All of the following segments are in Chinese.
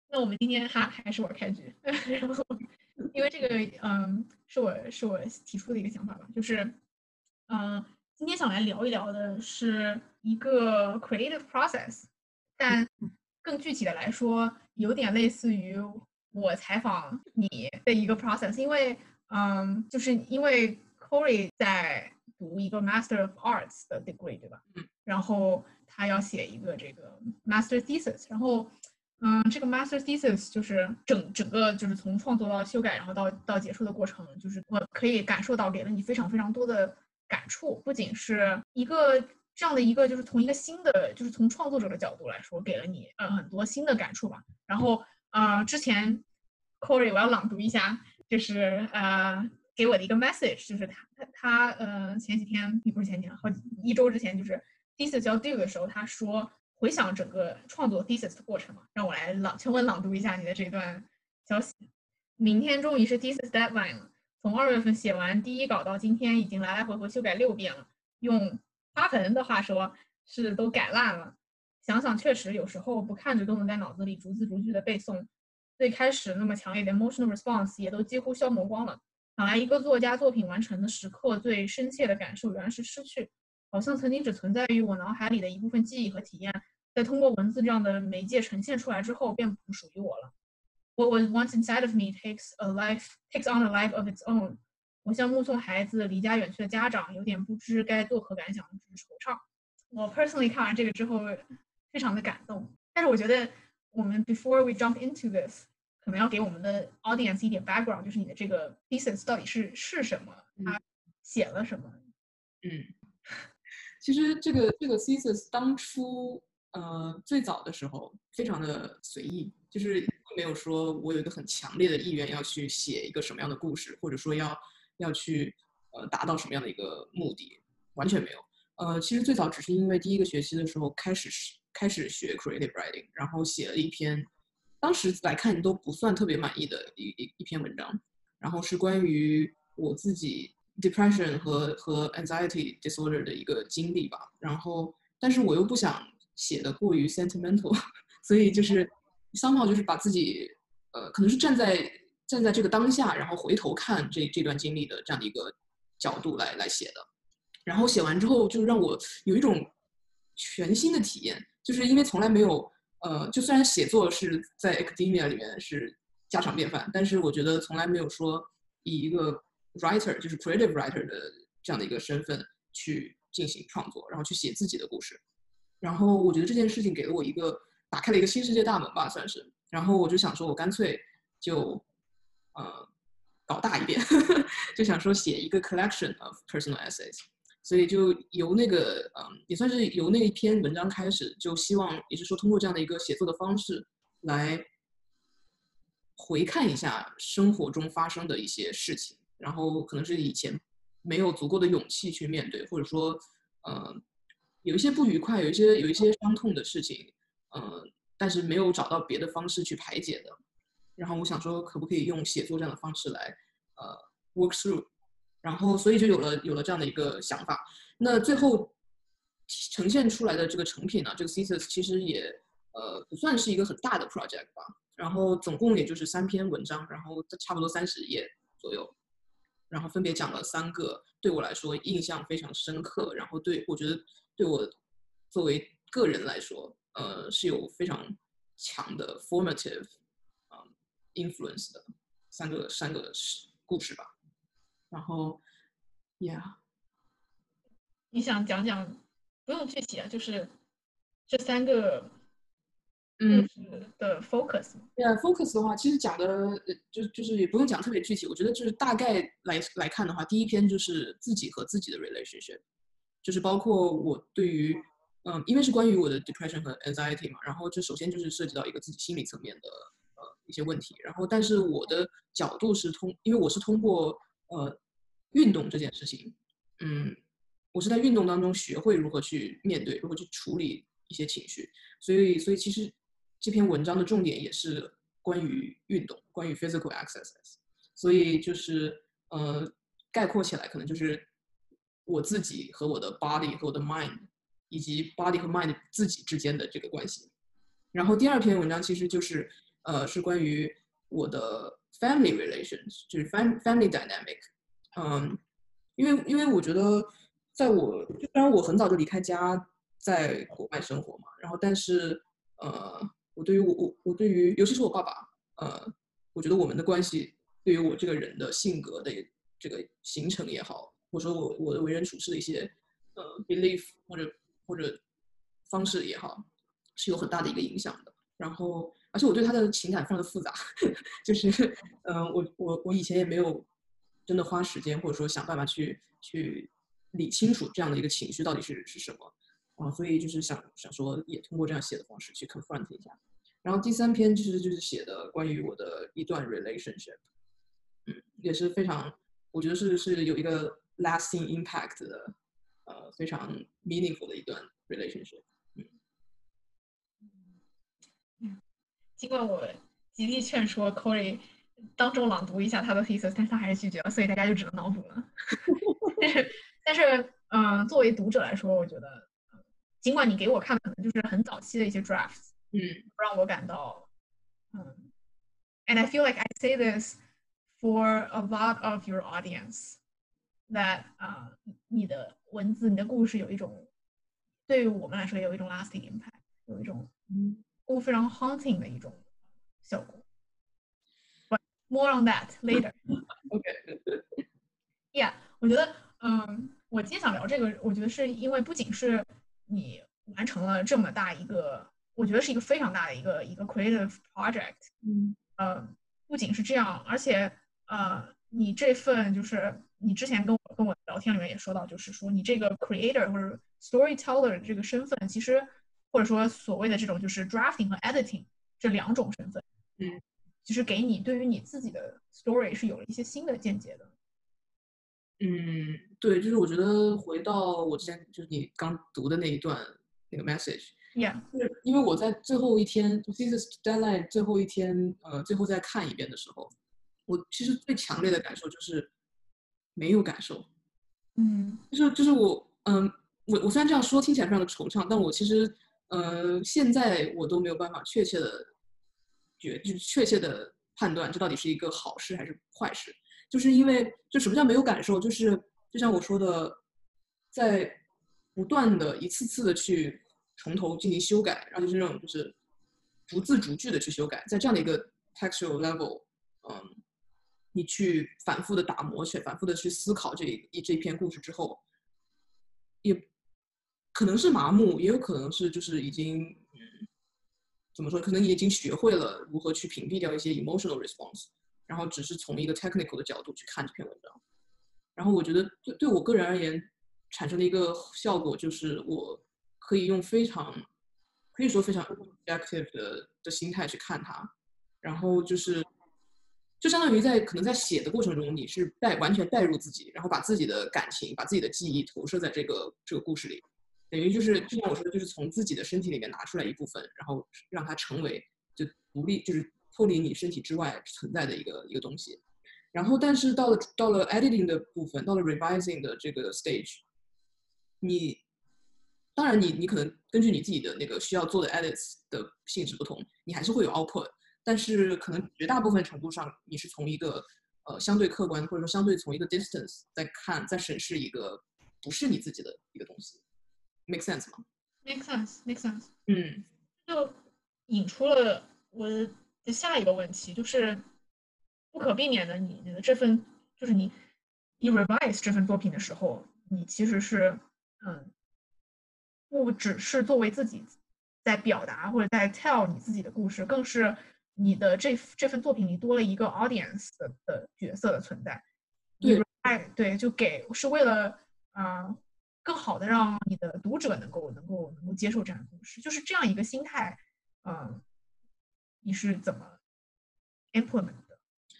那我们今天还是我开局，然后因为这个是我提出的一个想法吧，就是今天想来聊一聊的是一个 creative process，但更具体的来说，有点类似于我采访你的一个 process，因为就是因为 Corey 在读一个 Master of Arts 的 degree，对吧？然后他要写一个这个 master thesis，然后这个 master thesis 就是整个就是从创作到修改，然后到结束的过程，就是我可以感受到给了你非常非常多的感触，不仅是一个这样的一个，就是从一个新的，就是从创作者的角度来说，给了你很多新的感触吧。然后之前 Corey 我要朗读一下，就是给我的一个 message，就是他前几天也不是前几天，一周之前就是 thesis 要 due 的时候，他说回想整个创作 thesis 的过程嘛，让我来全文朗读一下你的这段消息。明天终于是 thesis deadline 了，从2月份写完第一稿到今天，已经来来回回修改6遍了。用花盆的话说，是都改烂了。想想确实有时候不看着都能在脑子里逐字逐句的背诵，最开始那么强烈的 emotional response 也都几乎消磨光了。想来一个作家作品完成的时刻，最深切的感受原来是失去，好像曾经只存在于我脑海里的一部分记忆和体验，在通过文字这样的媒介呈现出来之后，便不属于我了。What was once inside of me takes on a life of its own。我像目送孩子离家远去的家长，有点不知该作何感想，只是惆怅。我 personally 看完这个之后，非常的感动。但是我觉得我们 before we jump into this，可能要给我们的 audience 一点 background，就是你的这个 thesis 到底是什么，它写了什么。 其实这个 thesis 当初最早的时候非常的随意，就是没有说我有一个很强烈的意愿要去写一个什么样的故事，或者说要去达到什么样的一个目的，完全没有。其实最早只是因为第一个学期的时候开始学 creative writing，然后写了一篇，当时来看都不算特别满意的一篇文章，然后是关于我自己 depression 和 anxiety disorder 的一个经历吧。然后，但是我又不想写的过于 sentimental，所以就是somehow就是把自己可能是站在这个当下，然后回头看这段经历的这样的一个角度来写的。然后写完之后，就让我有一种全新的体验，就是因为从来没有就虽然写作是在 academia 里面是家常便饭，但是我觉得从来没有说以一个 writer 就是 creative writer 的这样的一个身份去进行创作，然后去写自己的故事。然后我觉得这件事情给了我打开了一个新世界大门吧，算是。然后我就想说，我干脆就搞大一点，就想说写一个 collection of personal essays。所以就由那个也算是由那一篇文章开始，就希望也是说通过这样的一个写作的方式来回看一下生活中发生的一些事情，然后可能是以前没有足够的勇气去面对，或者说有一些不愉快，有一些伤痛的事情，但是没有找到别的方式去排解的。然后我想说，可不可以用写作这样的方式来work through，然后所以就有了这样的一个想法。那最后呈现出来的这个成品呢，这个 thesis 其实也不算是一个很大的 project 吧，然后总共也就是3篇文章，然后差不多30页左右，然后分别讲了3个对我来说印象非常深刻，然后我觉得对我作为个人来说，是有非常强的 formative influence 的三个故事吧。然后 ，yeah， 你想讲讲，不用具体啊，就是这3个故嗯， 事的 focus。 对啊，focus 的话，其实讲的就是也不用讲特别具体，我觉得就是大概来看的话，第一篇就是自己和自己的 relationship，就是包括我对于因为是关于我的 depression 和 anxiety 嘛，然后这首先就是涉及到一个自己心理层面的一些问题，然后但是我的角度是因为我是通过运动这件事情，嗯，我是在运动当中学会如何去面对，如何去处理一些情绪，所以其实这篇文章的重点也是关于运动，关于 physical exercise，所以就是概括起来可能就是我自己和我的 body 和我的 mind，以及 body 和 mind 自己之间的这个关系。然后第2篇文章其实就是是关于我的 family relations，就是 family dynamic。因为我觉得，虽然我很早就离开家，在国外生活嘛，然后但是我对于尤其是我爸爸，我觉得我们的关系对于我这个人的性格的这个形成也好，或者说我的为人处事的一些belief 或者方式也好，是有很大的一个影响的。然后，而且我对他的情感非常的复杂，就是我以前也没有真的花时间或者说想办法去理清楚这样的一个情绪到底是什么所以就是想说也通过这样写的方式去 confront 一下。然后第3篇其实就是写的关于我的一段 relationship，也是非常我觉得是有一个 lasting impact 的非常 meaningful 的一段 relationship。 尽管我极力劝说 Corey 当众朗读一下他的 thesis， 但是他还是拒绝了，所以大家就只能脑补了。但是，作为读者来说，我觉得，尽管你给我看可能就是很早期的一些 drafts，让我感到，and I feel like I say this for a lot of your audience that 你的文字、你的故事有一种，对于我们来说有一种 lasting impact， 有一种非常 haunting 的一种效果。But more on that later. Yeah， 我觉得，我今天想聊这个，我觉得是因为不仅是你完成了这么大一个，我觉得是一个非常大的一个 creative project，不仅是这样，而且你这份就是你之前跟我聊天里面也说到，就是说你这个 creator 或者 storyteller 这个身份，其实或者说所谓的这种就是 drafting 和 editing 这2种身份，其实给你对于你自己的 story 是有了一些新的见解的。 对，就是我觉得回到我之前就是你刚读的那一段那个 message， 就是因为我在最后一天就 thesis deadline 最后一天，最后再看一遍的时候，我其实最强烈的感受就是没有感受，就是我虽然这样说听起来非常的惆怅，但我其实现在我都没有办法确切的判断这到底是一个好事还是坏事。就是因为就什么叫没有感受，就是就像我说的，在不断的一次次的去从头进行修改，然后就是那种就是逐字逐句的去修改，在这样的一个 textual level，你去反复的打磨，反复的去思考这一篇故事之后，也可能是麻木，也有可能是就是已经怎么说，可能已经学会了如何去屏蔽掉一些 emotional response。然后只是从一个 technical 的角度去看这篇文章，然后我觉得对我个人而言产生的一个效果就是我可以用可以说非常 objective 的心态去看它，然后就相当于可能在写的过程中，你是完全带入自己，然后把自己的感情、把自己的记忆投射在这个故事里，等于就是就像我说的，就是从自己的身体里面拿出来一部分，然后让它成为就独立，就是脱离你身体之外存在的一个东西。然后，但是到了 editing 的部分，到了 revising 的这个 stage， 当然你可能根据你自己的那个需要做的 edits 的性质不同，你还是会有 output， 但是可能绝大部分程度上，你是从一个相对客观或者说相对从一个 distance 在审视一个不是你自己的一个东西。Make sense 吗？ Make sense。就引出了我的下一个问题，就是不可避免的，你的这份就是你 revise 这份作品的时候，你其实是不只是作为自己在表达或者在 tell 你自己的故事，更是你的这份作品里多了一个 audience 的角色的存在。对，是为了更好的让你的读者能够接受这样的故事，就是这样一个心态，你是怎么 implement 的？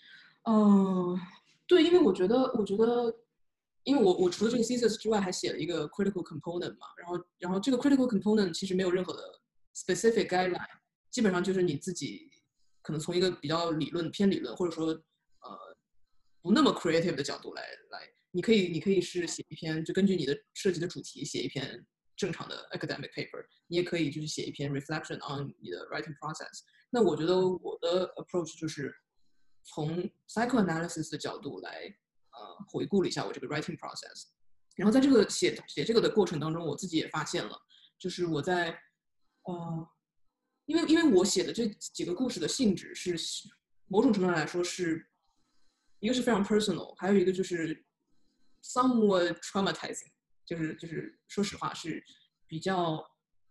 对，因为我觉得，因为我除了这个 thesis 之外，还写了一个 critical component 嘛，然后这个 critical component 其实没有任何的 specific guideline， 基本上就是你自己可能从一个比较偏理论，或者说不那么 creative 的角度来，你可以是写一篇，就根据你的设计的主题写一篇正常的 academic paper，你也可以就是写一篇 reflection on 你的 writing process。那我觉得我的 approach 就是从 psychoanalysis 的角度来回顾了一下我这个 writing process。然后在这个写这个的过程当中，我自己也发现了，就是我在因为我写的这几个故事的性质是某种程度上来说是一个是非常 personal， 还有一个就是 somewhat traumatizing， 就是说实话是比较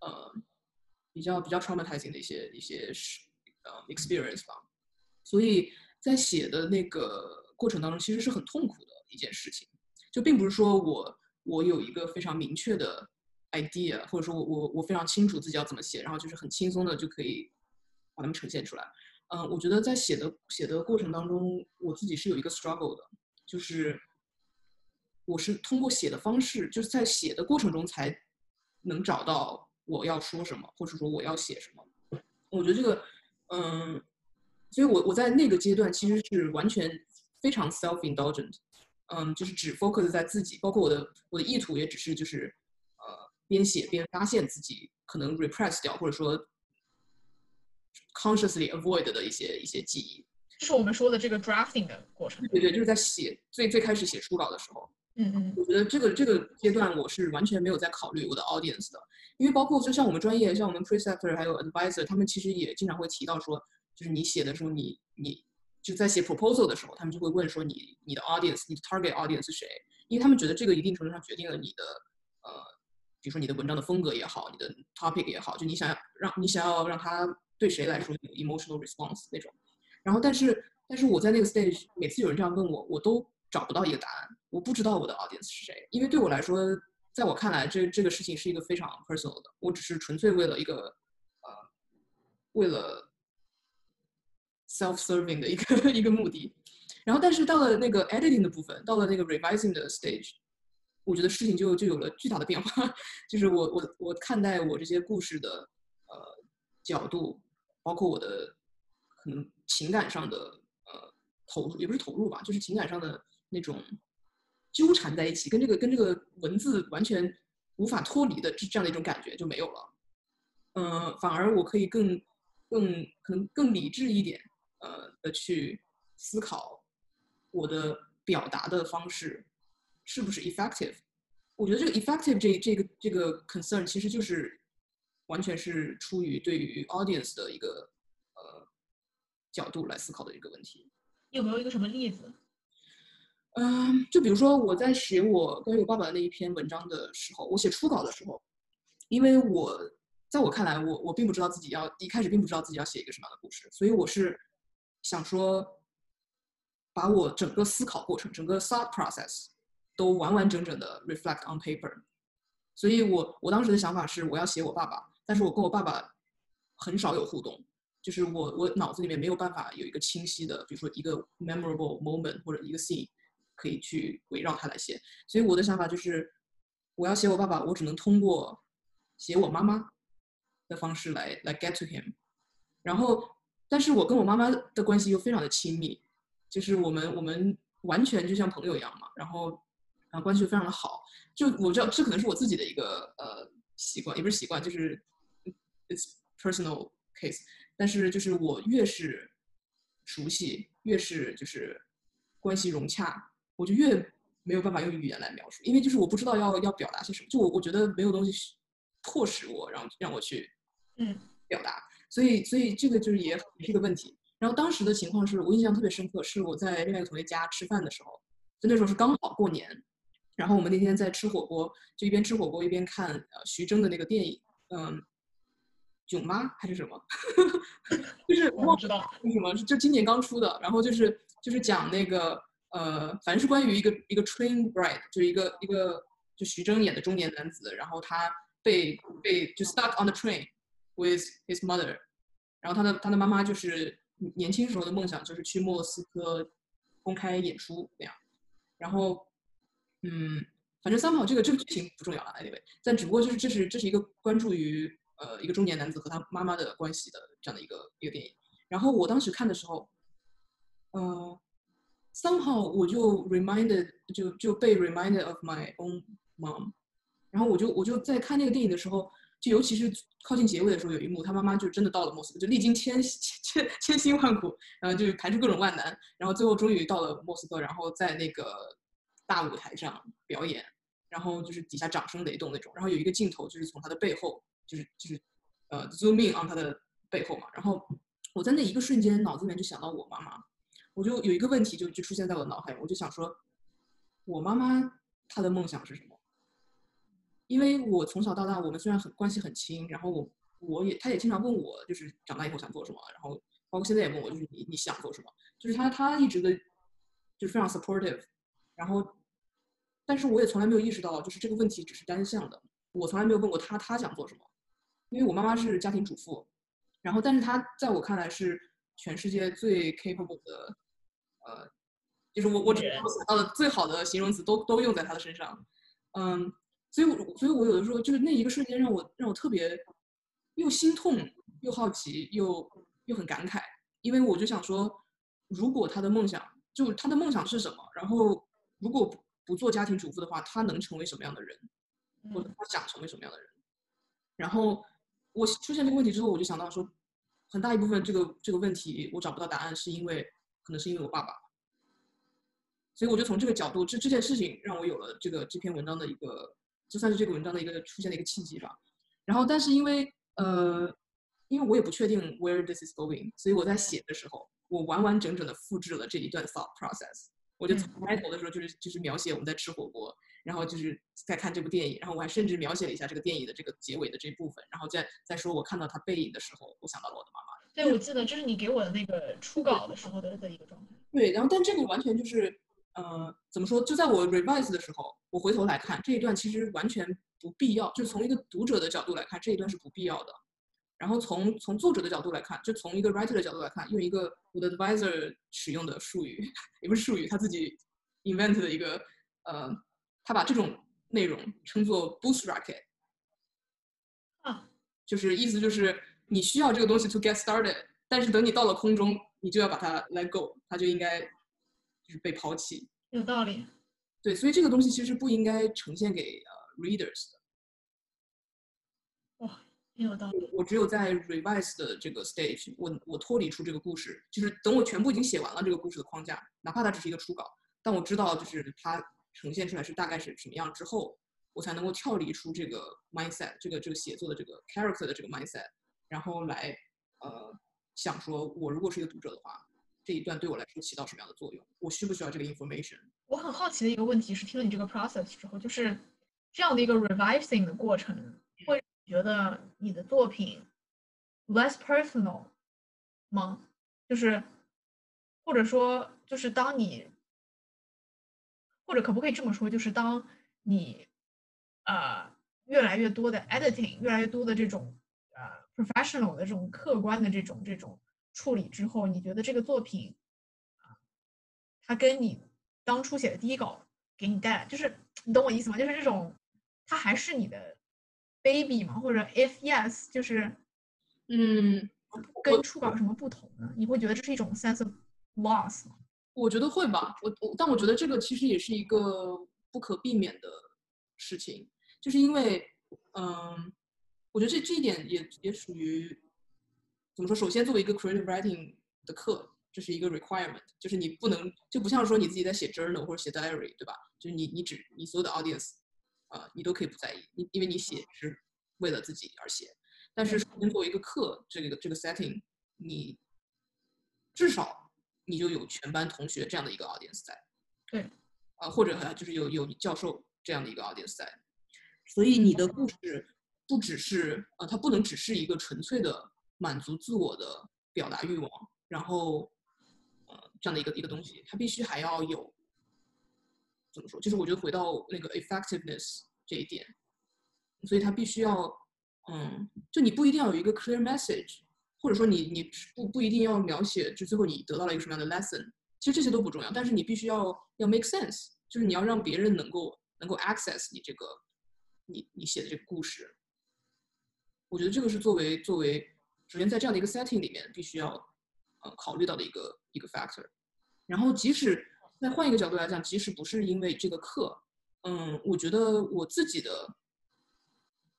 traumatizing 的一些experience 吧。所以在写的那个过程当中，其实是很痛苦的一件事情。就并不是说我有一个非常明确的 idea， 或者说我非常清楚自己要怎么写，然后就是很轻松的就可以把它们呈现出来。我觉得在写的过程当中，我自己是有一个 struggle 的，就是我是通过写的方式，就是在写的过程中才能找到我要说什么，或者说我要写什么。我觉得这个，所以我在那个阶段其实是完全非常 self-indulgent，就是只 focus 在自己，包括我的意图也只是就是边写边发现自己可能 repress 掉，或者说 consciously avoid 的一些记忆。 就是我们说的这个 drafting 的过程。 对，就是在写最开始写初稿的时候。我觉得这个阶段我是完全没有在考虑我的 audience 的，因为包括就像我们专业，像我们 preceptor 还有 advisor， 他们其实也经常会提到说，就是你写的时候，你就在写 proposal 的时候，他们就会问说你的 audience， 你的 target audience 是谁？因为他们觉得这个一定程度上决定了你的比如说你的文章的风格也好，你的 topic 也好，就你想要让他对谁来说有 emotional response 那种。然后但是我在那个 stage， 每次有人这样问我，我都找不到一个答案，我不知道我的 audience 是谁，因为对我来说，在我看来，这个事情是一个非常 personal 的，我只是纯粹为了一个为了 self-serving 的一个目的。然后，但是到了那个 editing 的部分，到了那个 revising 的 stage， 我觉得事情就有了巨大的变化。就是我看待我这些故事的角度，包括我的可能情感上的投入，也不是投入吧，就是情感上的那种纠缠在一起，跟这个文字完全无法脱离的这样的一种感觉就没有了。反而我可以可能更理智一点的去思考我的表达的方式是不是 effective。我觉得这个 effective 这个 concern 其实就是完全是出于对于 audience 的一个角度来思考的一个问题。 有没有一个什么例子？ 就比如说我在写我关于我爸爸的那一篇文章的时候，我写初稿的时候，因为在我看来，我并不知道自己一开始并不知道自己要写一个什么样的故事，所以我是想说，把我整个思考过程，整个 thought process 都完完整整的 reflect on paper。所以我当时的想法是，我要写我爸爸，但是我跟我爸爸很少有互动，就是我脑子里面没有办法有一个清晰的，比如说一个 memorable moment 或者一个 scene 可以去围绕它来写。所以我的想法就是，我要写我爸爸，我只能通过写我妈妈的方式来 get to him。然后，但是我跟我妈妈的关系又非常的亲密，就是我们完全就像朋友一样嘛，然后关系又非常的好。就我知道这可能是我自己的一个习惯，也不是习惯，就是 it's personal case。但是就是我越是熟悉，越是就是关系融洽，我就越没有办法用语言来描述，因为就是我不知道要表达些什么，就我觉得没有东西迫使我让我去表达，所以这个就是也是一个问题。然后当时的情况是我印象特别深刻，是我在另外一个同学家吃饭的时候，就那时候是刚好过年，然后我们那天在吃火锅，就一边吃火锅一边看徐峥的那个电影，囧妈还是什么，就是我不知道是什么，就今年刚出的，然后就是讲那个反正是关于一个 train bride， 就是一个就徐峥演的中年男子，然后他被就 stuck on the train with his mother， 然后他的妈妈就是年轻时候的梦想就是去莫斯科公开演出那样，然后反正somehow这个剧情不重要了 anyway， 但只不过就是这是一个关注于一个中年男子和他妈妈的关系的这样的一个电影。然后我当时看的时候，somehow 我就被 reminded of my own mom， 然后我就在看那个电影的时候，就尤其是靠近结尾的时候，有一幕他妈妈就真的到了莫斯科，就历经千辛万苦，然后就排除各种万难，然后最后终于到了莫斯科，然后在那个大舞台上表演，然后就是底下掌声雷动那种，然后有一个镜头就是从他的背后，就是zoom in on 他的背后嘛，然后我在那一个瞬间脑子里面就想到我妈妈，我就有一个问题就出现在我的脑海里，我就想说，我妈妈她的梦想是什么？因为我从小到大，我们虽然关系很亲，然后他也经常问我，就是长大以后想做什么，然后包括现在也问我，就是你想做什么，就是他一直的，就是非常 supportive，然后，但是我也从来没有意识到，就是这个问题只是单向的，我从来没有问过他想做什么，因为我妈妈是家庭主妇，然后但是她在我看来是全世界最 capable 的，就是我只能想到的最好的形容词都用在她的身上，嗯。所以我有的时候就是那一个瞬间让我特别又心痛又好奇又很感慨，因为我就想说，如果他的梦想是什么，然后如果不做家庭主妇的话，他能成为什么样的人，或者他想成为什么样的人？然后我出现这个问题之后，我就想到说，很大一部分这个问题我找不到答案，可能是因为我爸爸。所以我就从这个角度，这件事情让我有了这篇文章的一个，就算是这个文章的一个出现的一个契机吧。然后，但是因为我也不确定 where this is going，所以我在写的时候，我完完整整的复制了这一段 thought process。我就从开头的时候就是描写我们在吃火锅，然后就是在看这部电影，然后我还甚至描写了一下这个电影的这个结尾的这部分，然后再说我看到他背影的时候，我想到了我的妈妈。 对，我记得这是你给我的那个初稿的时候的一个状态。 对，然后但这个完全就是，怎么说？就在我 revise 的时候，我回头来看这一段，其实完全不必要。就是从一个读者的角度来看，这一段是不必要的。然后从作者的角度来看，就从一个 writer 的角度来看，用一个我的 advisor 使用的术语，也不是术语，他自己 invent 的一个，他把这种内容称作 boost rocket，就是意思就是你需要这个东西 to get started，但是等你到了空中，你就要把它 let go，它就应该就是被抛弃。 有道理。 对，所以这个东西其实不应该呈现给readers 的。 哇，很有道理。 我只有在 revise 的这个 stage，我脱离出这个故事，就是等我全部已经写完了这个故事的框架，哪怕它只是一个初稿，但我知道就是它呈现出来是大概是什么样之后，我才能够跳离出这个 mindset，这个写作的这个 character 的这个 mindset，然后来想说，我如果是一个读者的话，这一段对我来说起到什么样的作用？我需不需要这个 information？ 我很好奇的一个问题是，听了你这个 process 之后，就是这样的一个 revising 的过程，会觉得你的作品 less personal 吗？就是或者说，就是当你或者可不可以这么说，就是当你越来越多的 editing，越来越多的这种professional 的这种客观的这种处理之后，你觉得这个作品它跟你当初写的第一稿给你带来，就是你懂我意思吗？就是这种它还是你的 baby 吗？或者 if yes，就是跟初稿有什么不同呢？你会觉得这是一种 sense of loss 吗？ 我觉得会吧，但我觉得这个其实也是一个不可避免的事情，就是因为，我觉得这一点也属于怎么说？首先，作为一个 creative writing 的课，这是一个 requirement，就是你不能就不像说你自己在写 journal 或者写 diary，对吧？就是你所有的 audience，你都可以不在意，因为你写是为了自己而写。但是首先作为一个课，这个 setting，你至少你就有全班同学这样的一个 audience 在， 对， 或者就是有教授这样的一个 audience 在，所以你的故事不只是它不能只是一个纯粹的满足自我的表达欲望，然后这样的一个东西，它必须还要有怎么说？就是我觉得回到那个 effectiveness 这一点，所以它必须要就你不一定要有一个 clear message，或者说你不一定要描写，就最后你得到了一个什么样的 lesson，其实这些都不重要，但是你必须要 make sense，就是你要让别人能够 access 你这个你写的这个故事。我觉得这个是作为首先在这样的一个 setting 里面必须要考虑到的一个 factor。然后即使再换一个角度来讲，即使不是因为这个课，我觉得我自己的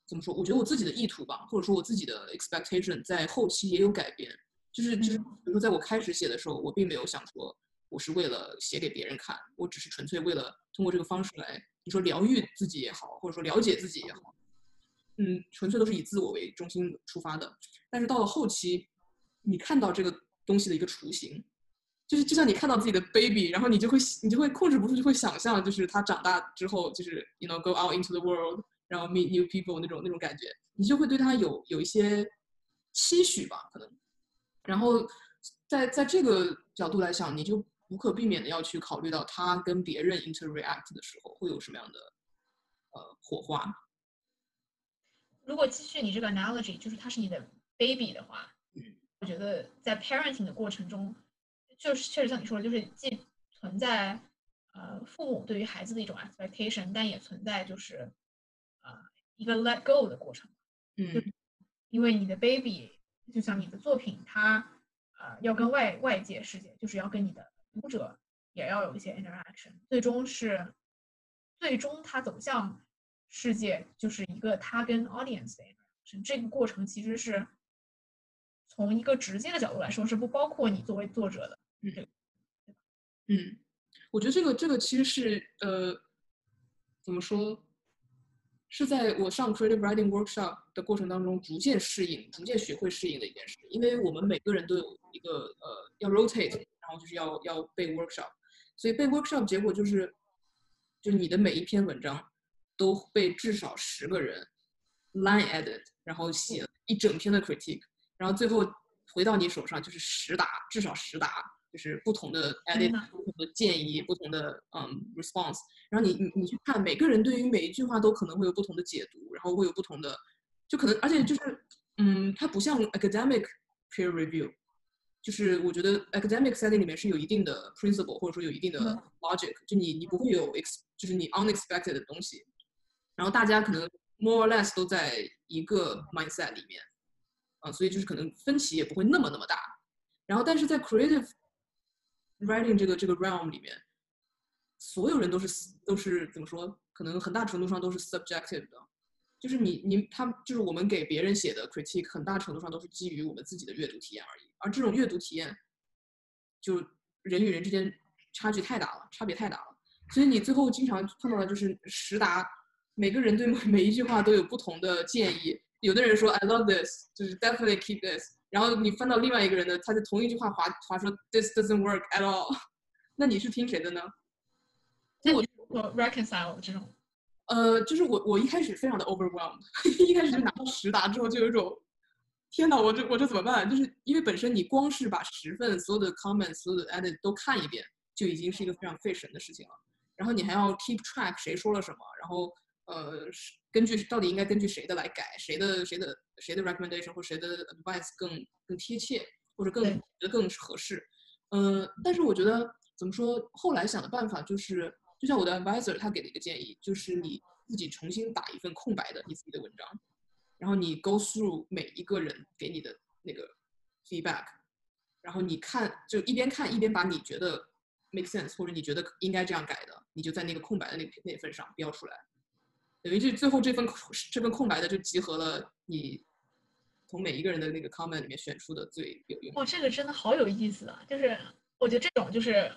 怎么说？我觉得我自己的意图吧，或者说我自己的 expectation 在后期也有改变。就是比如说在我开始写的时候，我并没有想说我是为了写给别人看，我只是纯粹为了通过这个方式来，你说疗愈自己也好，或者说了解自己也好，纯粹都是以自我为中心出发的。但是到了后期，你看到这个东西的一个雏形，就是就像你看到自己的 baby，然后你就会控制不住，就会想象，就是他长大之后，就是 go out into the world，然后 meet new people 那种感觉，你就会对他有一些期许吧，可能。然后在这个角度来想，你就无可避免的要去考虑到他跟别人 interact 的时候会有什么样的火花。 如果继续你这个 analogy，就是他是你的 baby 的话，我觉得在 parenting 的过程中，就是确实像你说的，就是既存在父母对于孩子的一种 expectation，但也存在就是一个 let go 的过程。因为你的 baby 就像你的作品，它要跟外界世界，就是要跟你的读者也要有一些 interaction，最终它走向世界就是一个它跟 audience 的 interaction。这个过程其实是从一个直接的角度来说是不包括你作为作者的。 我觉得这个其实是怎么说？是在我上 creative writing workshop 的过程当中逐渐适应、逐渐学会适应的一件事。因为我们每个人都有一个要 rotate，然后就是要背 workshop，所以背 workshop 结果就是你的每一篇文章都被至少10个人 line edit，然后写一整篇的 critique，然后最后回到你手上就是至少10答，就是不同的 edit，不同的建议，不同的response。然后你去看，每个人对于每一句话都可能会有不同的解读，然后会有不同的，就可能，而且就是它不像 academic peer review， 就是我觉得 academic setting 里面是有一定的 principle， 或者说有一定的 logic，就你不会有就是你 unexpected 的东西，然后大家可能 more or less 都在一个 mindset 里面，所以就是可能分歧也不会那么大。然后但是在 creative writing 这个 realm 里面，所有人都是怎么说？可能很大程度上都是 subjective 的，就是就是我们给别人写的 critique， 很大程度上都是基于我们自己的阅读体验而已。而这种阅读体验，就人与人之间差别太大了。所以你最后经常碰到的就是10答，每个人对每一句话都有不同的建议。有的人说 I love this， 就是 definitely keep this， 然后你翻到另外一个人的，他就同一句话划说 this doesn't work at all， 那你是听谁的呢？ 所以我 reconcile 这种， 就是我一开始非常的 overwhelmed， 一开始就拿到10答之后，就有一种天哪，我这怎么办？就是因为本身你光是把10份所有的 comments、所有的 edit 都看一遍，就已经是一个非常费神的事情了。然后你还要 keep track 谁说了什么，然后到底应该根据谁的来改，谁的 recommendation 或谁的 advice 更贴切，或者觉得更合适。但是我觉得怎么说，后来想的办法就是，就像我的 advisor 他给的一个建议，就是你自己重新打一份空白的你自己的文章，然后你 go through 每一个人给你的那个 feedback， 然后你就一边看一边把你觉得 make sense 或者你觉得应该这样改的，你就在那个空白的那份上标出来，等于就最后这份空白的就集合了你从每一个人的那个 comment 里面选出的最有用。 这个真的好有意思啊！就是我觉得这种就是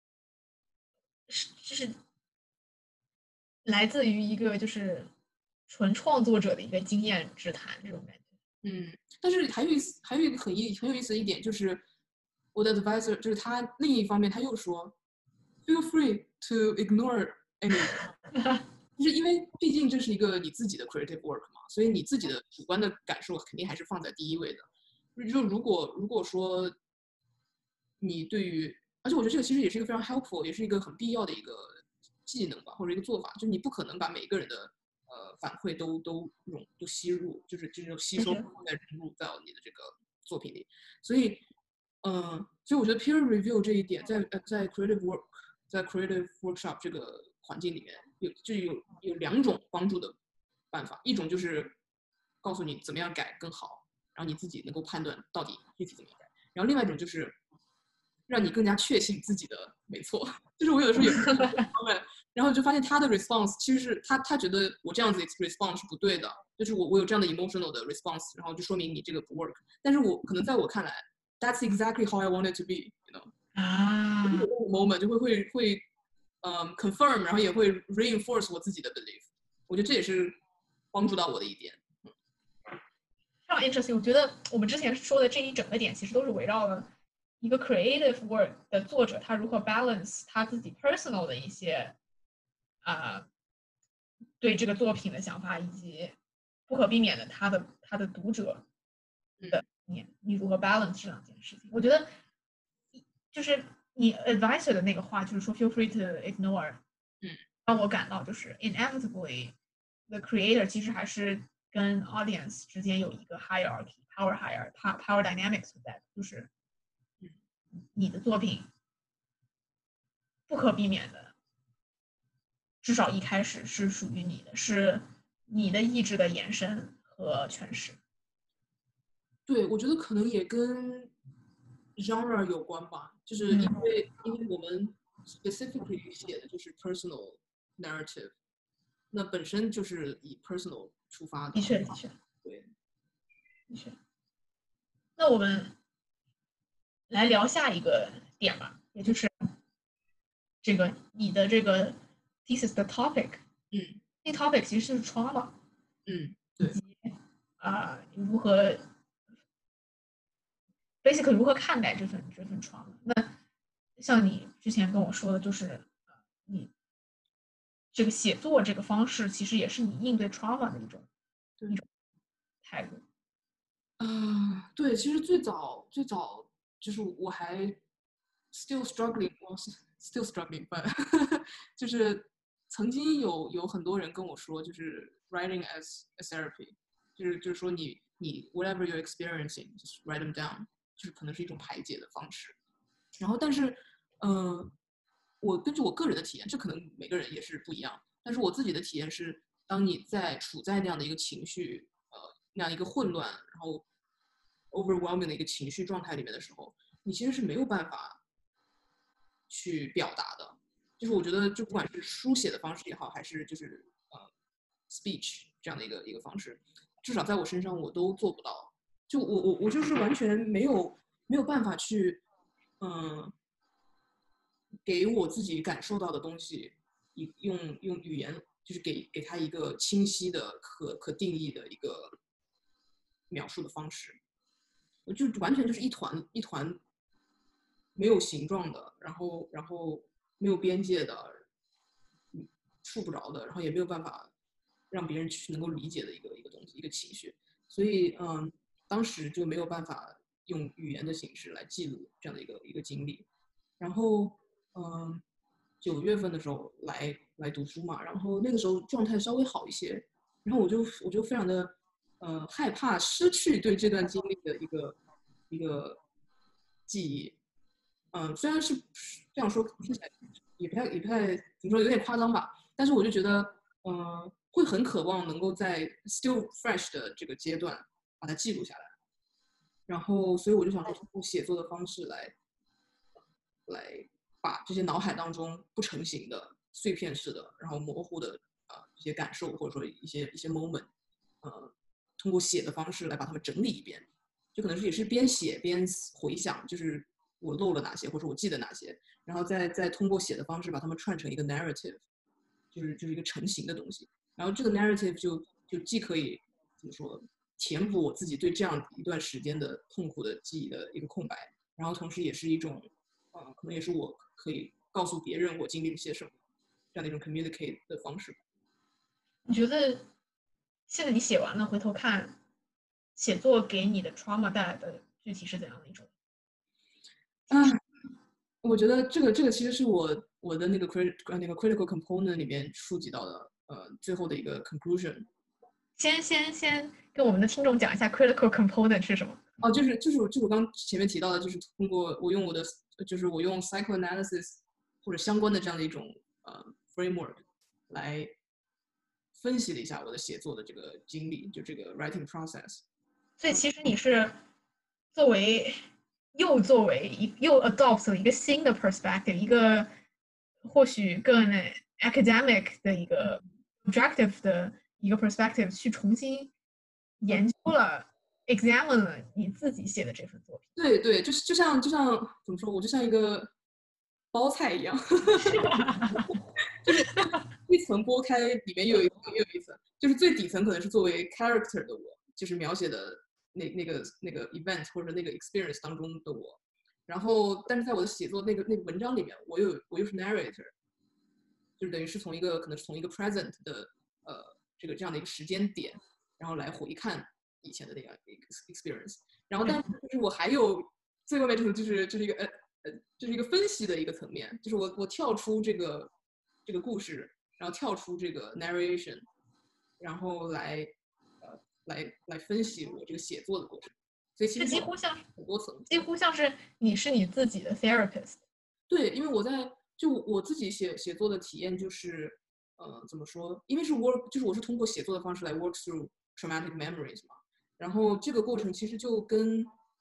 来自于一个就是纯创作者的一个经验之谈，这种感觉。 但是还有一个很有意思的一点，就是我的 advisor 就是他另一方面他又说 feel free to ignore anyone， 就是因为毕竟这是一个你自己的 creative work 嘛，所以你自己的主观的感受肯定还是放在第一位的。就如果说你对于，而且我觉得这个其实也是一个非常 helpful， 也是一个很必要的一个技能吧，或者一个做法，就是你不可能把每一个人的反馈都吸入，就是这种吸收再融入到你的这个作品里。所以我觉得 peer review 这一点在 creative workshop 这个环境里面有2种帮助的办法，一种就是告诉你怎么样改更好，然后你自己能够判断到底具体怎么样改，然后另外一种就是让你更加确信自己的没错。就是我有的时候也然后就发现他的 response 其实是他觉得我这样子 response 是不对的，就是我有这样的 emotional 的 response， 然后就说明你这个不 work。但是我可能在我看来 ，that's exactly how I want it to be，you know。 啊， moment 就会confirm， 然后也会 reinforce 我自己的 belief。我觉得这也是帮助到我的一点。 非常 interesting。我觉得我们之前说的这一整个点，其实都是围绕了一个 creative work 的作者他如何 balance 他自己 personal 的一些对这个作品的想法，以及不可避免的他的读者的你如何 balance 这两件事情。我觉得就是你 advisor 的那个话，就是说 feel free to ignore，让我感到就是 inevitably the creator 其实还是跟 audience 之间有一个 power dynamics 存在，就是你的作品不可避免的，至少一开始是属于你的，是你的意志的延伸和诠释。 对，我觉得可能也跟 genre 有关吧，就是因为我们 specifically 写的就是 personal narrative， 那本身就是以 personal 出发的。 的确，的确， 对， 的确。那我们来聊下一个点吧，也就是这个你的这个 thesis 的 topic。这 topic 其实是 trauma， 对， 如何 basically 如何看待这份 trauma。那像你之前跟我说的，就是你这个写作这个方式，其实也是你应对 trauma 的一种态度。 对，其实最早就是我还 still struggling， 我是 still struggling， 就是曾经有很多人跟我说，就是 writing as a therapy， 就是说你 whatever you're experiencing just write them down， 就是可能是一种排解的方式。然后但是我根据我个人的体验，这可能每个人也是不一样，但是我自己的体验是，当你处在那样的一个情绪那样一个混乱，然后 overwhelming 的一个情绪状态里面的时候，你其实是没有办法去表达的。就是我觉得，就不管是书写的方式也好，还是就是speech 这样的一个方式，至少在我身上我都做不到。就我就是完全没有办法去给我自己感受到的东西，用语言就是给他一个清晰的可定义的一个描述的方式。我就完全就是一团没有形状的，然后没有边界的，触不着的，然后也没有办法让别人去能够理解的一个东西，一个情绪。所以当时就没有办法用语言的形式来记录这样的一个经历。然后9月份的时候来读书嘛，然后那个时候状态稍微好一些，然后我就非常的害怕失去对这段经历的一个记忆。虽然是这样说听起来也不太怎么说，有点夸张吧，但是我就觉得会很渴望能够在 still fresh 的这个阶段把它记录下来。然后所以我就想说通过写作的方式来把这些脑海当中不成形的碎片式的，然后模糊的一些感受，或者说一些 moment，通过写的方式来把它们整理一遍，就可能是也是边写边回想，就是我漏了哪些，或者我记得哪些，然后再通过写的方式把它们串成一个 narrative， 就是一个成型的东西。然后这个 narrative 就既可以怎么说填补我自己对这样一段时间的痛苦的记忆的一个空白，然后同时也是一种可能也是我可以告诉别人我经历了些什么这样的一种 communicate 的方式。 你觉得现在你写完了，回头看写作给你的 trauma 带来的具体是怎样的一种？ 我觉得这个其实是我的那个 critical component 里面触及到的最后的一个 conclusion。 先跟我们的听众讲一下 critical component 是什么？ 就是我刚前面提到的，就是通过我用就是我用 psychoanalysis 或者相关的这样的一种framework 来分析了一下我的写作的这个经历，就这个 writing process。 所以其实你是作为又作为又 adopt 了一个新的 perspective，一个或许更 academic 的一个 objective 的一个 perspective 去重新研究了 examine 了你自己写的这份作品。 对对，就像怎么说，我就像一个包菜一样，就是一层剥开，里面又有一层，就是最底层可能是作为 character 的我，就是描写的那个 event 或者那个 experience 当中的我，然后但是在我的写作那个文章里面，我又是 narrator，就是等于是可能是从一个 present 的这样的一个时间点，然后来回看以前的那个 experience，然后但是就是我还有最外面就是一个就是一个分析的一个层面，就是我跳出这个故事，然后跳出这个 narration，然后来分析我这个写作的过程，所以其实这几乎像很多层， 几乎像是你是你自己的 therapist。 对，因为我自己写作的体验就是，怎么说？因为就是我是通过写作的方式来 work through traumatic memories 嘛，然后这个过程其实就跟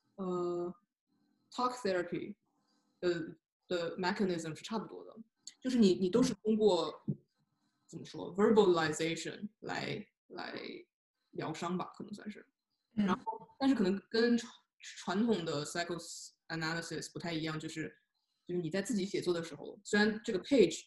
talk therapy 的 mechanism 是差不多的，就是你都是通过怎么说 verbalization 来疗伤吧，可能算是。然后，但是可能跟传统的 psychoanalysis 不太一样，就是你在自己写作的时候，虽然这个 page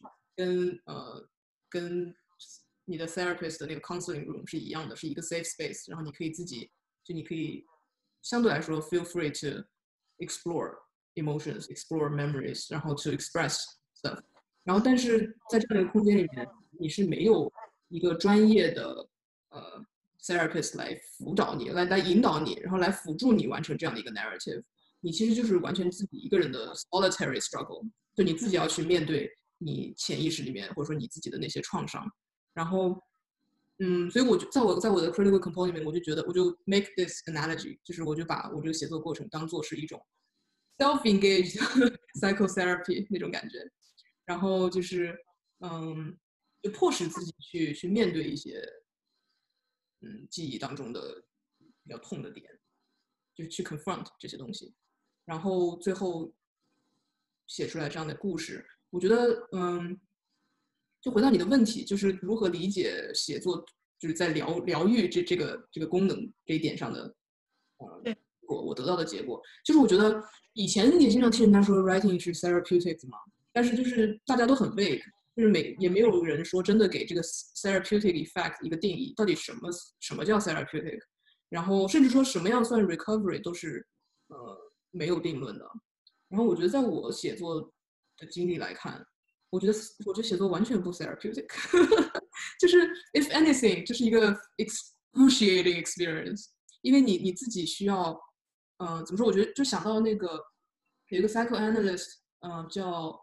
跟你的 therapist 的那个 counseling room 是一样的，是一个 safe space，然后你可以相对来说 feel free to explore emotions，explore memories，然后 to express stuff。然后，但是在这样一个空间里面，你是没有一个专业的therapist 来辅导你，来引导你，然后来辅助你完成这样的一个 narrative。你其实就是完全自己一个人的 solitary struggle，就你自己要去面对你潜意识里面或者说你自己的那些创伤。然后，所以我就在我的 critical component 里面，我就 make this analogy，就是我就把我这个写作过程当做是一种 self-engaged psychotherapy 那种感觉。然后就是就迫使自己去面对一些记忆当中的比较痛的点，就是去 confront 这些东西，然后最后写出来这样的故事。我觉得就回到你的问题，就是如何理解写作，就是在疗愈这个功能这一点上的，我得到的结果，就是我觉得以前也经常听人家说 writing 是 therapeutic 嘛，但是就是大家都很 vague，就是也没有人说真的给这个 therapeutic effect 一个定义，到底什么叫 therapeutic，然后甚至说什么样算 recovery 都是没有定论的。然后我觉得在我写作的经历来看，我觉得写作完全不 therapeutic，就是 if anything 就是一个 excruciating experience，因为你自己需要，怎么说？我觉得就想到那个有一个 psychoanalyst，叫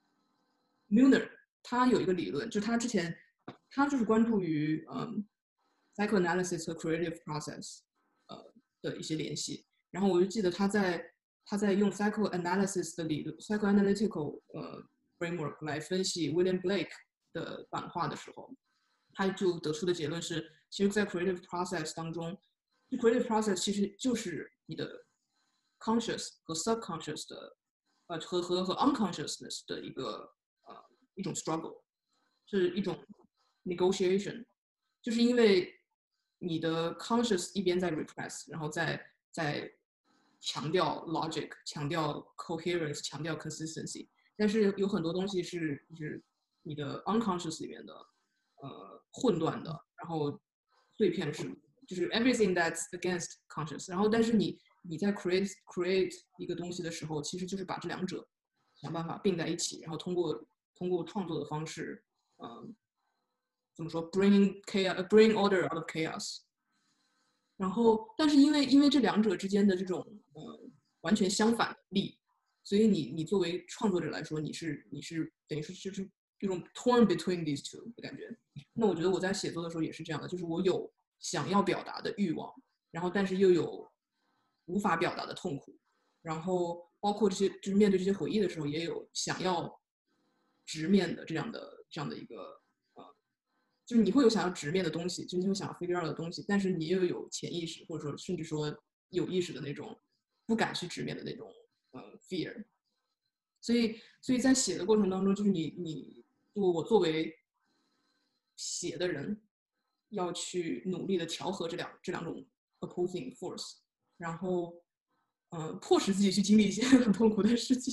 Milner，他有一个理论，就他之前他就是关注于psychoanalysis 和 creative process 的一些联系。然后我就记得他在用 psychoanalysis 的理论 psychoanalytical framework 来分析 William Blake 的版画的时候，他就得出的结论是，其实，在 creative process 当中，creative process 其实就是你的 conscious 和 subconscious 的和 unconsciousness 的一种 struggle，是一种 negotiation，就是因为你的 conscious 一边在 repress，然后在强调 logic，强调 coherence，强调 consistency，但是有很多东西就是你的 unconscious 里面的混乱的，然后碎片式，就是 everything that's against conscious，然后但是你在 create 一个东西的时候，其实就是把这两者想办法并在一起，然后通过创作的方式，怎么说 bring order out of chaos。然后，但是因为这两者之间的这种完全相反的力，所以你作为创作者来说，你是等于是就是这种 torn between these two 的感觉。那我觉得我在写作的时候也是这样的，就是我有想要表达的欲望，然后但是又有无法表达的痛苦，然后包括这些就是面对这些回忆的时候，也有想要直面的这样的一个就是你会有想要直面的东西，就是你会想要 figure out 的东西，但是你又有潜意识或者说甚至说有意识的那种不敢去直面的那种 fear。所以在写的过程当中，就是我作为写的人，要去努力的调和这两种 opposing force，然后迫使自己去经历一些很痛苦的事情。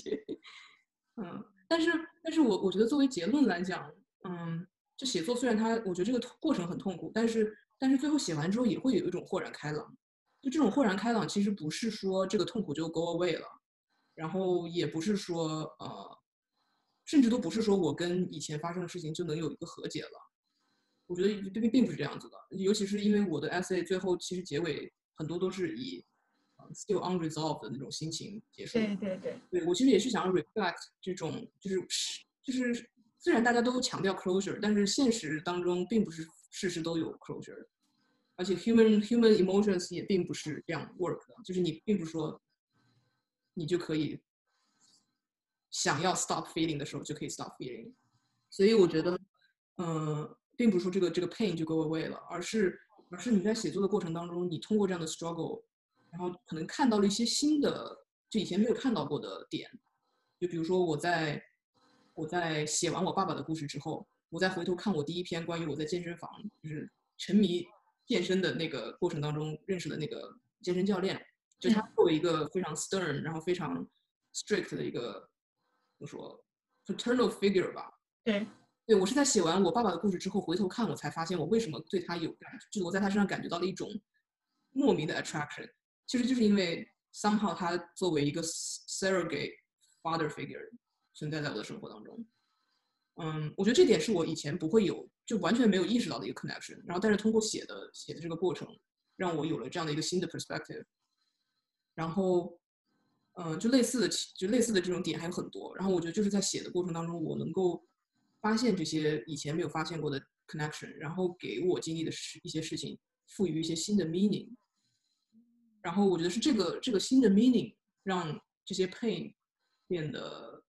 但是我觉得作为结论来讲，这写作虽然我觉得这个过程很痛苦，但是最后写完之后也会有一种豁然开朗。就这种豁然开朗，其实不是说这个痛苦就 go away 了，然后也不是说甚至都不是说我跟以前发生的事情就能有一个和解了。我觉得并不是这样子的，尤其是因为我的 essay 最后其实结尾很多都是以still unresolved 的那种心情结束。对，我其实也是想要 reflect 这种就是虽然大家都强调 closure， 但是现实当中并不是事事都有 closure， 而且 human emotions 也并不是这样 work 的，就是你并不是说你就可以想要 stop feeling 的时候就可以 stop feeling。所以我觉得并不是说这个 pain 就 go away 了，而是你在写作的过程当中，你通过这样的 struggle， 然后可能看到了一些新的就以前没有看到过的点。就比如说我在写完我爸爸的故事之后，我再回头看我第一篇关于我在健身房就是沉迷健身的那个过程当中认识的那个健身教练，就他作为一个非常 stern 然后非常 strict 的一个怎么说 paternal figure 吧。对，我是在写完我爸爸的故事之后回头看，我才发现我为什么对他有感觉，就是我在他身上感觉到了一种莫名的 attraction， 其实就是因为 somehow 他作为一个 surrogate father figure 存在在我的生活当中。我觉得这点是我以前不会有，就完全没有意识到的一个 connection。然后，但是通过写的这个过程，让我有了这样的一个新的 perspective。然后，就类似的这种点还有很多。然后我觉得就是在写的过程当中，我能够发现这些以前没有发现过的 connection， 然后给我经历的一些事情赋予一些新的 meaning。然后我觉得是这个新的 meaning 让这些 pain 变得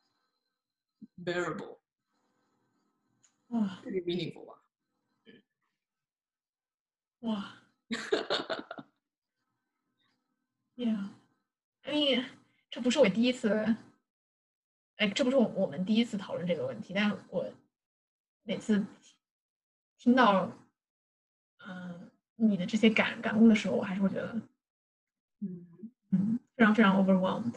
bearable。这个 meaningful 吧。 哇，Yeah， 这不是我第一次，这不是我们第一次讨论这个问题，但我每次听到你的这些感悟的时候，我还是会觉得非常非常 overwhelmed。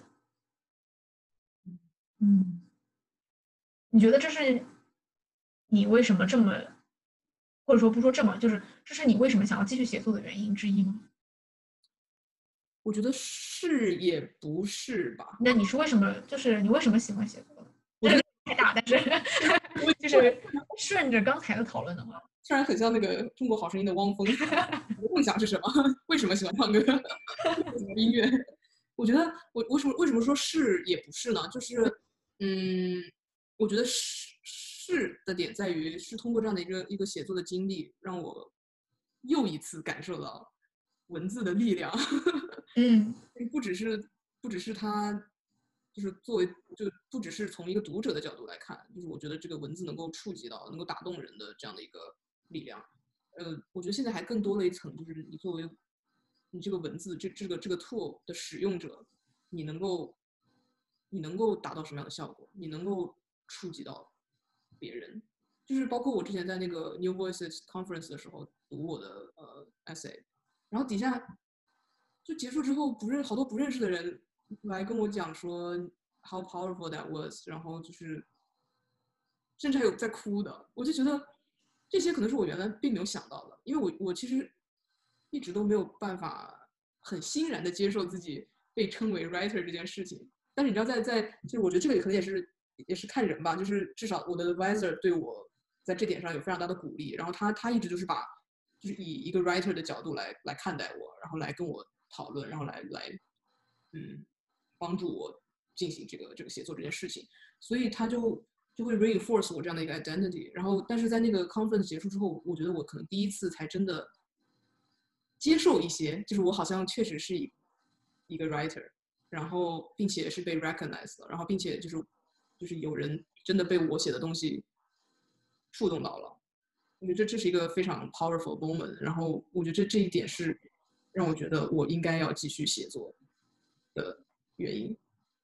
你觉得这是你为什么这么，或者说不说这么，就是这是你为什么想要继续写作的原因之一吗？ 我觉得是也不是吧。 那你是为什么？就是你为什么喜欢写作？我觉得太大，但是就是顺着刚才的讨论的话， 虽然很像那个中国好声音的汪峰，你的梦想是什么？为什么喜欢唱歌？喜欢音乐？我觉得我为什么说是也不是呢？就是我觉得是的点在于是通过这样的一个写作的经历，让我又一次感受到文字的力量。不只是他，就是作为就不只是从一个读者的角度来看，就是我觉得这个文字能够触及到、能够打动人的这样的一个力量。我觉得现在还更多了一层，就是你作为你这个文字这个 tool 的使用者，你能够达到什么样的效果？你能够触及到别人，就是包括我之前在那个 New Voices Conference 的时候读我的essay， 然后底下就结束之后，好多不认识的人来跟我讲说 how powerful that was， 然后就是甚至还有在哭的，我就觉得这些可能是我原来并没有想到的，因为我其实一直都没有办法很欣然的接受自己被称为 writer 这件事情。但是你知道就是我觉得这个可能也是看人吧，就是至少我的 advisor 对我在这点上有非常大的鼓励，然后他一直就是以一个 writer 的角度来看待我，然后来跟我讨论，然后来帮助我进行这个写作这件事情，所以他就会 reinforce 我这样的一个 identity。然后，但是在那个 conference 结束之后，我觉得我可能第一次才真的接受一些，就是我好像确实是一个 writer， 然后并且是被 recognized 了，然后并且就是有人真的被我写的东西触动到了。我觉得这是一个非常 powerful moment， 然后我觉得这一点是让我觉得我应该要继续写作的原因。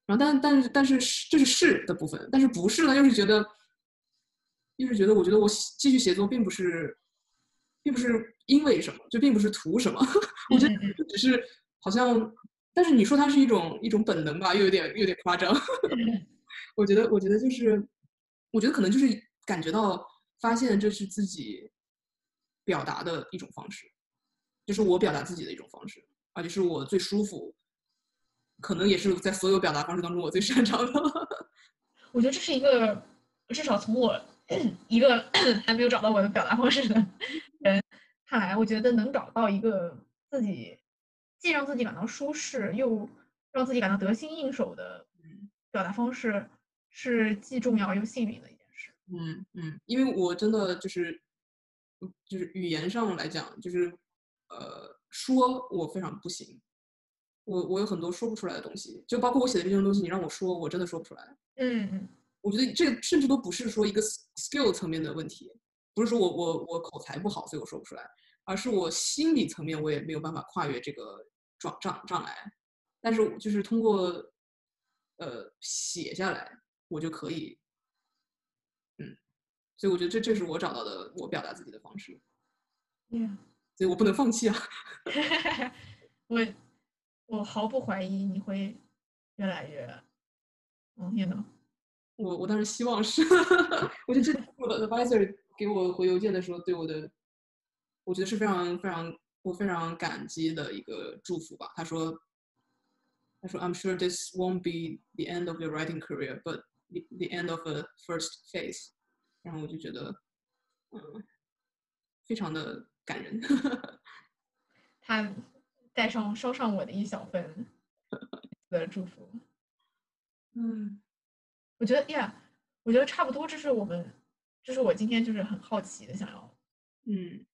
然后但是这是的部分，但是不是呢？又是觉得我觉得我继续写作并不是因为什么，就并不是图什么，我觉得只是好像，但是你说它是一种本能吧，又有点夸张。我觉得就是，我觉得可能就是感觉到发现这是自己表达的一种方式，就是我表达自己的一种方式，而且是我最舒服，可能也是在所有表达方式当中我最擅长的。 我觉得这是一个，至少从我一个还没有找到我的表达方式的人看来，我觉得能找到一个自己既让自己感到舒适，又让自己感到得心应手的表达方式，是既重要又幸运的一件事。 因为我真的就是语言上来讲，就是说我非常不行，我有很多说不出来的东西，就包括我写的这些东西，你让我说，我真的说不出来。 嗯我觉得这个甚至都不是说一个 skill 层面的问题，不是说我口才不好，所以我说不出来，而是我心理层面我也没有办法跨越这个障碍。但是就是通过写下来，我就可以，所以我觉得这是我找到的我表达自己的方式， 嗯， 所以我不能放弃啊。 我我毫不怀疑你会越来越you know。 我当然希望是，我觉得这是我的 advisor 给我回邮件的时候对我的，我觉得是我非常感激的一个祝福吧。他说 I'm sure this won't be the end of your writing career, but the end of a first phase。然后我就觉得，非常的感人。 他捎上我的一小份的祝福。 嗯我觉得呀，我觉得差不多，这是我今天就是很好奇的想要嗯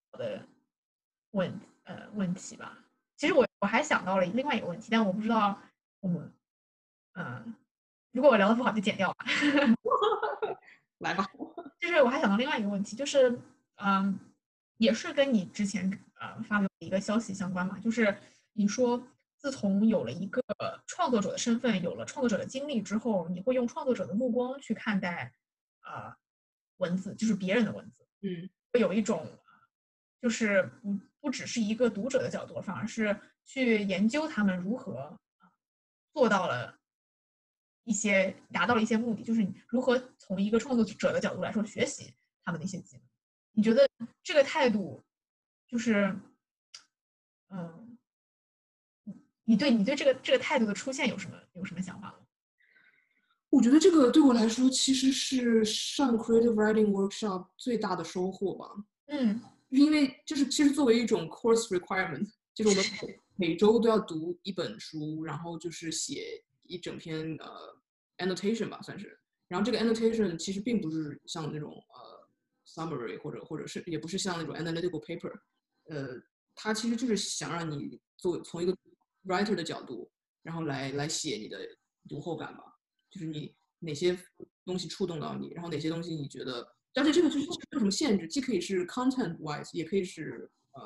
问题吧。其实我还想到了另外一个问题，但我不知道我们如果我聊的不好就剪掉吧。 来吧。 就是我还想到另外一个问题，就是也是跟你之前发表的一个消息相关嘛，就是你说自从有了一个创作者的身份，有了创作者的经历之后，你会用创作者的目光去看待文字，就是别人的文字，会有一种就是不只是一个读者的角度，反而是去研究他们如何做到了达到了一些目的，就是你如何从一个创作者的角度来说学习他们的一些技能。你觉得这个态度就是，嗯，你对这个态度的出现有什么想法吗？ 我觉得这个对我来说其实是上 creative writing workshop 最大的收获吧。因为就是其实作为一种 course requirement，就是我们每周都要读一本书，然后就是写一整篇annotation 吧，算是。然后这个 annotation 其实并不是像那种summary 或者是也不是像那种 analytical paper，它其实就是想让你从一个 writer 的角度，然后来写你的读后感吧，就是你哪些东西触动到你，然后哪些东西你觉得。而且这个就是没有什么限制，既可以是 content wise，也可以是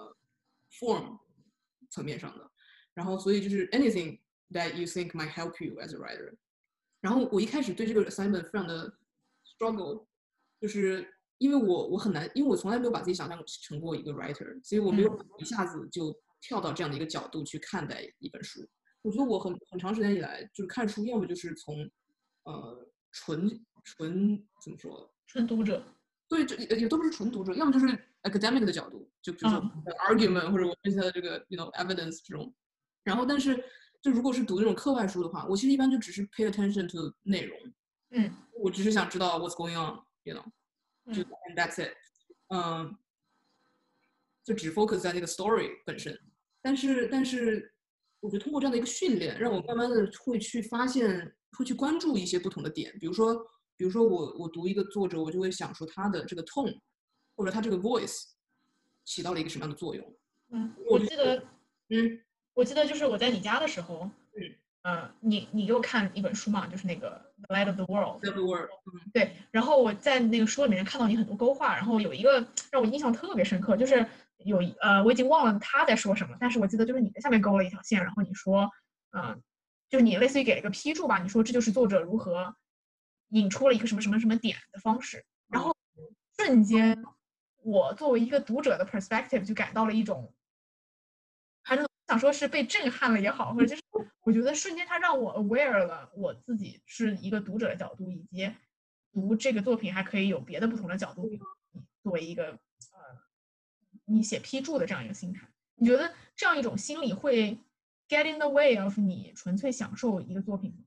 form 层面上的。然后所以就是 anything that you think might help you as a writer。然后我一开始对这个 assignment 非常的 struggle，就是因为我很难，因为我从来没有把自己想象成过一个 writer，所以我没有一下子就跳到这样的一个角度去看待一本书。我觉得我很长时间以来就是看书，要么就是从纯怎么说， 纯读者。 对，这也都不是纯读者，要么就是 academic 的角度，就比如说 argument 或者我分析它的这个 evidence 这种。然后，但是就如果是读那种课外书的话，我其实一般就只是 pay attention to 内容，我只是想知道 what's going on，you know，就 and that's it，就只 focus 在那个 story 本身。但是，我觉得通过这样的一个训练，让我慢慢的会去发现，会去关注一些不同的点，比如说我读一个作者，我就会想说他的这个 tone，或者他这个 voice 起到了一个什么样的作用。 我记得就是我在你家的时候，你给我看一本书嘛，就是那个《The Light of the World》。对，然后我在那个书里面看到你很多勾画，然后有一个让我印象特别深刻，就是我已经忘了他在说什么，但是我记得就是你在下面勾了一条线，然后你说， 就是你类似于给了一个批注吧，你说这就是作者如何引出了一个什么什么什么点的方式，然后瞬间我作为一个读者的 perspective 就感到了一种，反正想说是被震撼了也好，或者就是我觉得瞬间它让我 aware 了我自己是一个读者的角度，以及读这个作品还可以有别的不同的角度，作为一个你写批注的这样一个心态。你觉得这样一种心理会 get in the way of 你纯粹享受一个作品吗？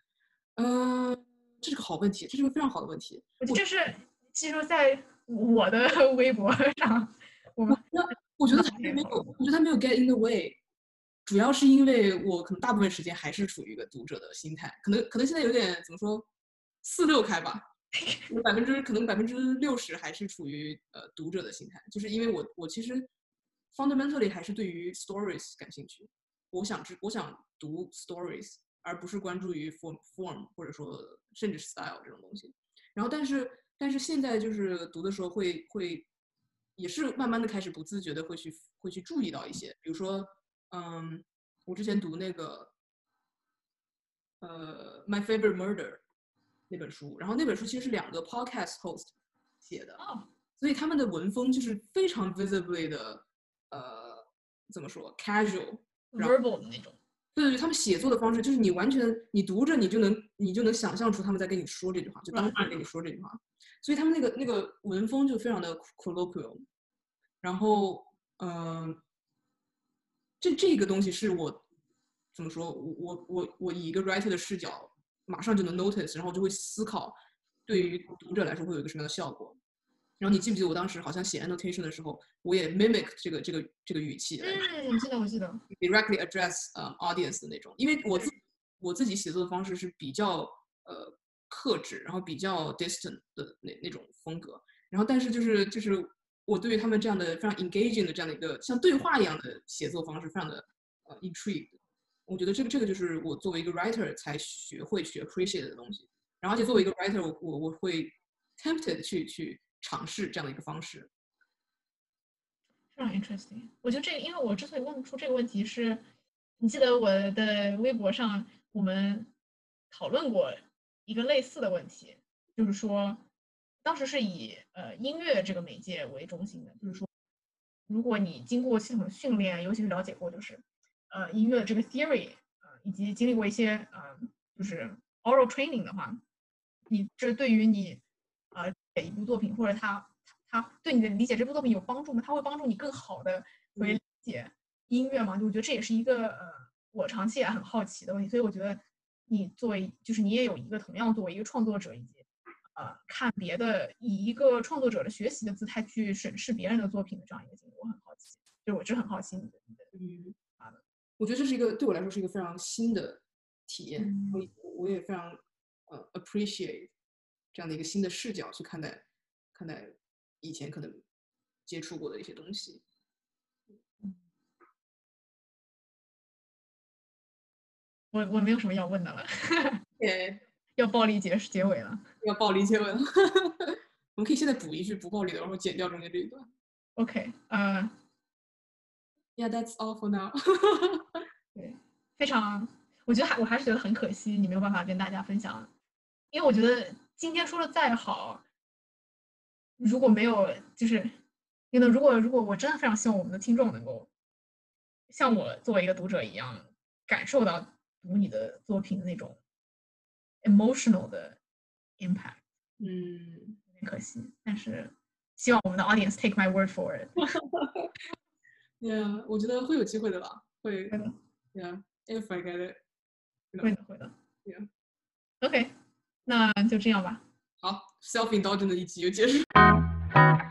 这是个好问题，这是个非常好的问题。 我觉得这是其实在我的微博上， 我觉得他没有，我觉得他没有 get in the way，主要是因为我可能大部分时间还是处于一个读者的心态，可能现在有点怎么说，4-6开吧，可能60%还是处于读者的心态，就是因为我其实 fundamentally 还是对于 stories 感兴趣，我想读 stories，而不是关注于 form 或者说甚至 style 这种东西。然后但是现在就是读的时候会也是慢慢的开始不自觉的会去注意到一些，比如说我之前读那个My Favorite Murder 那本书，然后那本书其实是2个 podcast host 写的，所以他们的文风就是非常 visibly 的怎么说 casual verbal 的那种。 对，他们写作的方式就是你完全你读着你就能想象出他们在跟你说这句话，就当事人跟你说这句话，所以他们那个文风就非常的 colloquial， 然后这个东西是我怎么说，我以一个 writer 的视角马上就能 notice， 然后就会思考对于读者来说会有一个什么样的效果。然后你记不记得我当时好像写 annotation 的时候，我也 mimic 这个语气来， 我记得 directly address audience 的那种，因为我自己写作的方式是比较克制，然后比较 distant 的那种风格，然后但是就是我对于他们这样的非常 engaging 的这样的一个像对话一样的写作方式非常的intrigued， 我觉得这个就是我作为一个 writer 才学 appreciate 的东西，然后而且作为一个 writer 我会 tempted 去尝试这样的一个方式。 非常 interesting。我觉得因为我之所以问出这个问题是，你记得我的微博上我们讨论过一个类似的问题，就是说，当时是以音乐这个媒介为中心的，就是说，如果你经过系统的训练，尤其是了解过就是音乐的这个 theory，以及经历过一些就是 oral training 的话，你这对于你写一部作品或者它对你的理解这部作品有帮助吗？它会帮助你更好的理解音乐吗？我觉得这也是一个我长期也很好奇的问题。所以我觉得你作为就是你也有一个同样作为一个创作者以及看别的以一个创作者的学习的姿态去审视别人的作品的这样一个经历，我很好奇。就我就很好奇你的我觉得这是一个对我来说是一个非常新的体验，我也非常appreciate 这样的一个新的视角去看待以前可能接触过的一些东西。 我没有什么要问的了。 对， 要暴力结尾了。 要暴力结尾了。我们可以现在补一句不暴力的，然后剪掉中间这一段。 OK， Yeah, that's all for now. 对，非常，我觉得我还是觉得很可惜，你没有办法跟大家分享，因为我觉得今天说的再好，如果没有就是如果我真的非常希望我们的听众能够像我作为一个读者一样，感受到读你的作品的那种 emotional 的 impact， 有点可惜，但是希望我们的 audience take my word for it。 Yeah， 我觉得会有机会的吧，会的。 Yeah, if I get it， 会的。 Yeah. OK，那就这样吧。 好 ，self indulgent 的一集就结束。